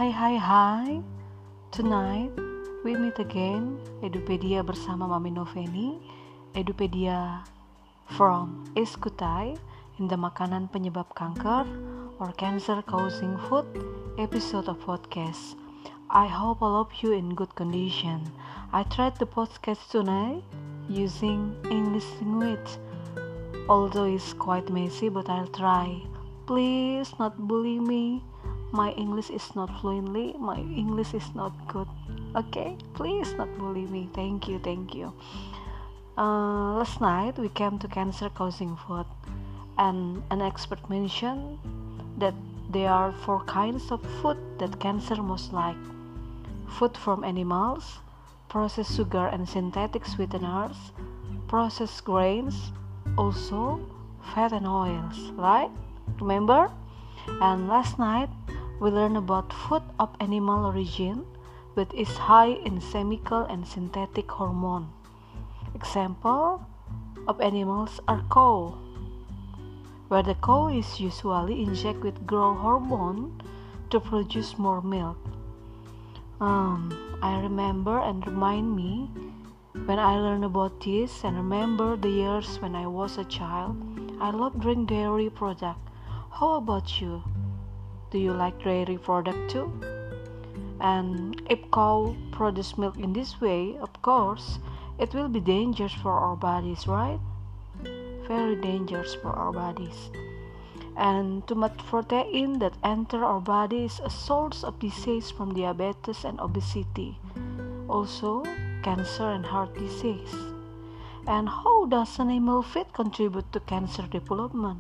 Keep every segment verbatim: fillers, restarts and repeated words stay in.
Hai hai hai, tonight we meet again, Edupedia bersama Mami Noveni, Edupedia from Eskutai in the makanan penyebab kanker or cancer causing food episode of podcast. I hope all of you in good condition. I tried the podcast tonight using English language, although it's quite messy, but I'll try. Please not bully me. My English is not fluently, my English is not good. Okay, please not bully me. Thank you, thank you. Uh, last night we came to cancer causing food, and an expert mentioned that there are four kinds of food that cancer most like: food from animals, processed sugar and synthetic sweeteners, processed grains, also fat and oils, right? Remember? And last night we learned about food of animal origin, which is high in chemical and synthetic hormone. Example of animals are cow, where the cow is usually injected with growth hormone to produce more milk. Um, I remember and remind me when I learned about this and remember the years when I was a child. I love drink dairy product. How about you? Do you like dairy product too? And if cow produce milk in this way, of course, it will be dangerous for our bodies, right? Very dangerous for our bodies. And too much protein that enter our body is a source of disease from diabetes and obesity. Also, cancer and heart disease. And how does animal feed contribute to cancer development?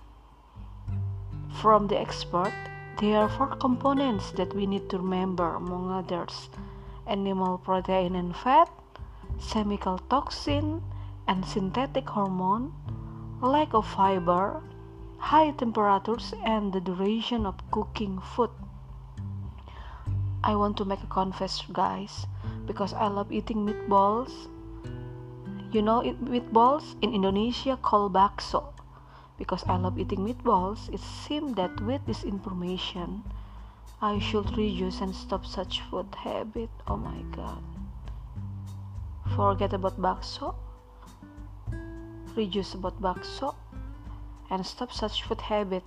From the expert, there are four components that we need to remember, among others: animal protein and fat, chemical toxin and synthetic hormone, lack of fiber, high temperatures, and the duration of cooking food. I want to make a confess, guys, because I love eating meatballs. You know it, meatballs in Indonesia called bakso. Because I love eating meatballs, it seemed that with this information, I should reduce and stop such food habit. Oh my god. Forget about bakso, reduce about bakso, and stop such food habit.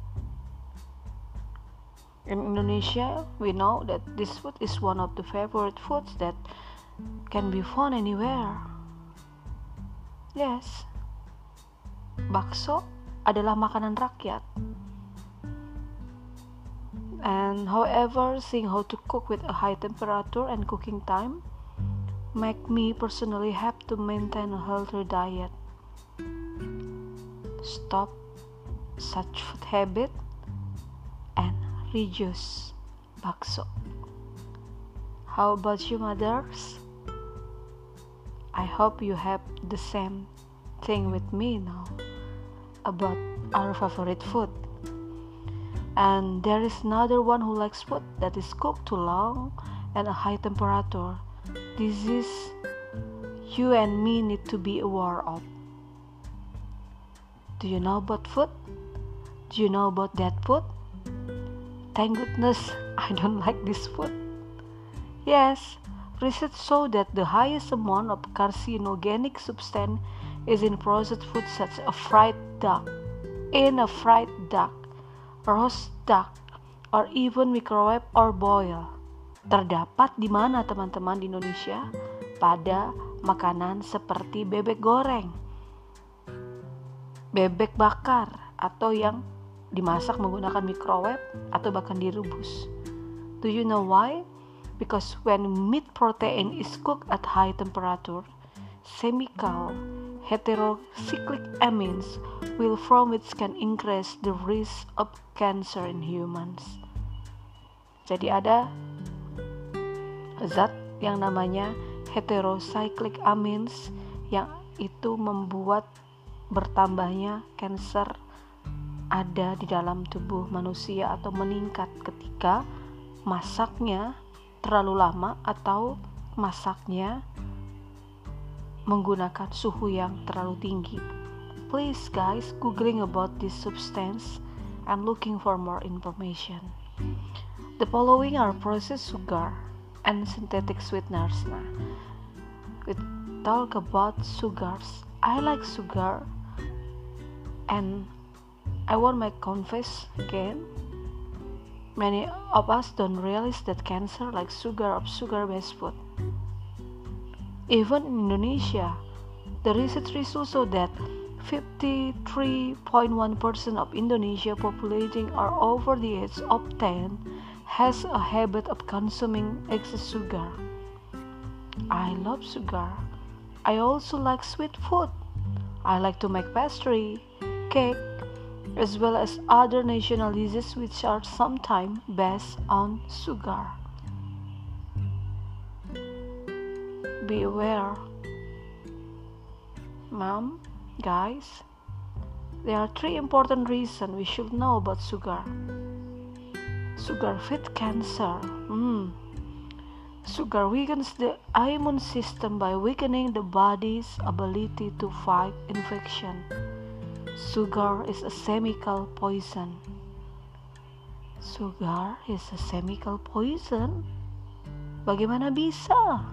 In Indonesia, we know that this food is one of the favorite foods that can be found anywhere. Yes, bakso adalah makanan rakyat. And however, seeing how to cook with a high temperature and cooking time make me personally have to maintain a healthy diet. Stop such food habit and reduce bakso. How about you, mothers? I hope you have the same thing with me now about our favorite food. And there is another one who likes food that is cooked too long and a high temperature. This is you and me need to be aware of. Do you know about food? Do you know about that food? Thank goodness I don't like this food. Yes, research show that the highest amount of carcinogenic substance is in processed food such as fried duck, in a fried duck, roast duck, or even microwave or boil. Terdapat di mana teman-teman di Indonesia? Pada makanan seperti bebek goreng, bebek bakar, atau yang dimasak menggunakan microwave atau bahkan direbus. Do you know why? Because when meat protein is cooked at high temperature, chemical heterocyclic amines will form which can increase the risk of cancer in humans. Jadi ada zat yang namanya heterocyclic amines yang itu membuat bertambahnya kanker ada di dalam tubuh manusia atau meningkat ketika masaknya terlalu lama atau masaknya menggunakan suhu yang terlalu tinggi. Please guys, googling about this substance and looking for more information. The following are processed sugar and synthetic sweeteners. Nah, we talk about sugars. I like sugar, and I want to confess again. Many of us don't realize that cancer likes sugar of sugar-based food. Even in Indonesia, the research results show that fifty-three point one percent of Indonesia population are over the age of ten has a habit of consuming excess sugar. I love sugar. I also like sweet food. I like to make pastry, cake, as well as other national dishes which are sometimes based on sugar. Be aware. Mom, guys, there are three important reasons we should know about sugar. Sugar feeds cancer. Mm. Sugar weakens the immune system by weakening the body's ability to fight infection. Sugar is a chemical poison. Sugar is a chemical poison? Bagaimana bisa?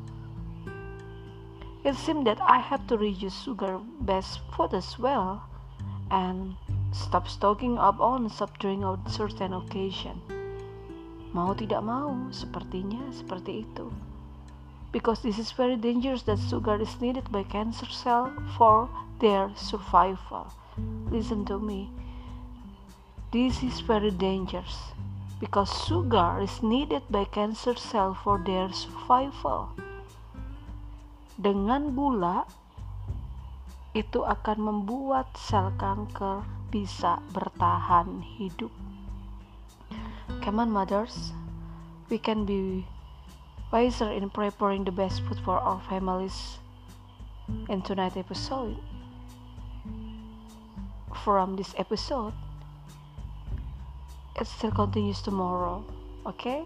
It seems that I have to reduce sugar-based food as well and stop stocking up on soft drink on certain occasion. Mau tidak mau, sepertinya seperti itu. Because this is very dangerous that sugar is needed by cancer cells for their survival. Listen to me. This is very dangerous because sugar is needed by cancer cells for their survival. Dengan gula, itu akan membuat sel kanker bisa bertahan hidup. Come on, mothers, we can be wiser in preparing the best food for our families. In tonight's episode, from this episode, it still continues tomorrow, okay?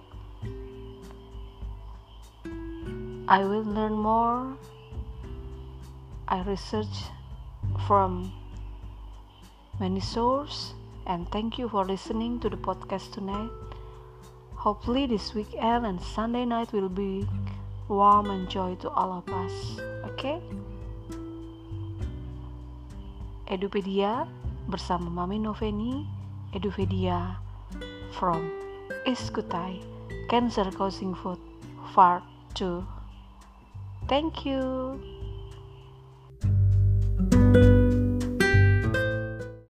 I will learn more. I research from many sources, and thank you for listening to the podcast tonight. Hopefully this weekend and Sunday night will be warm and joy to all of us. Okay? Edupedia bersama Mami Noveni. Edupedia from Iskutai, Cancer Causing Food Part two. Thank you.